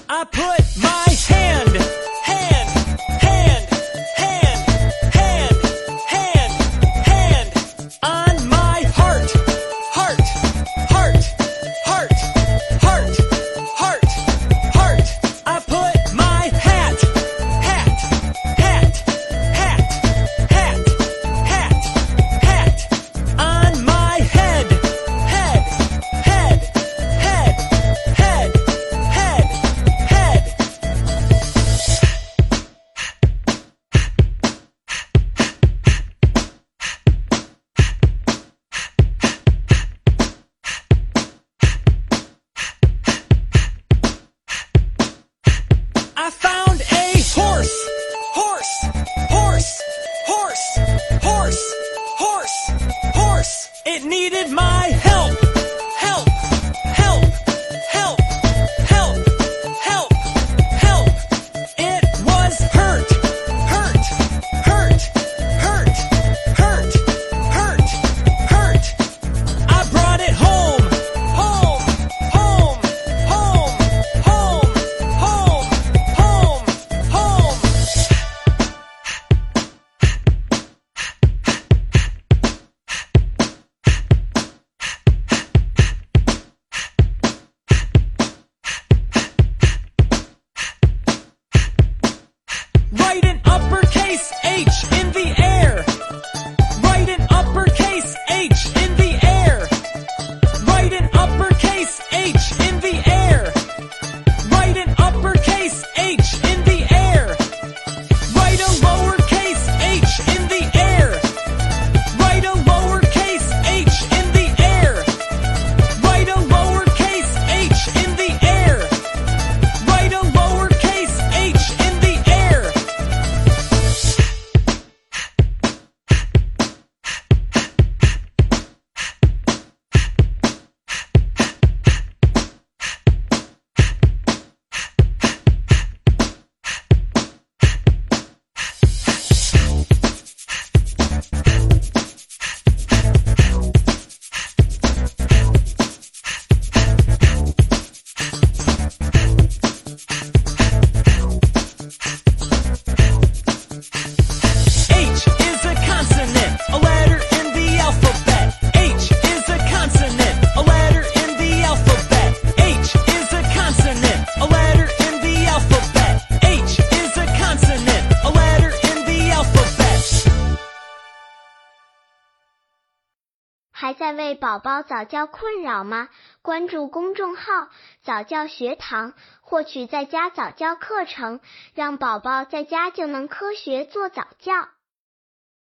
I put my hand on my heart I put my hat on my head I found a horse. It needed my help. It was hurt. I brought it home. Write an uppercase H in the air. Write an uppercase H in the air. Write an uppercase H in the air. Write an uppercase H in the air. Write a lowercase h in the air. Write a lowercase h in the air. Write a lowercase h in the air. Write a lowercase h in the air. H is a consonant, a letter in the alphabet. H is a consonant, a letter in the alphabet. H is a consonant, a letter in the alphabet. H is a consonant, a letter in the alphabet. 还在为宝宝早教困扰吗？关注公众号早教学堂，获取在家早教课程，让宝宝在家就能科学做早教。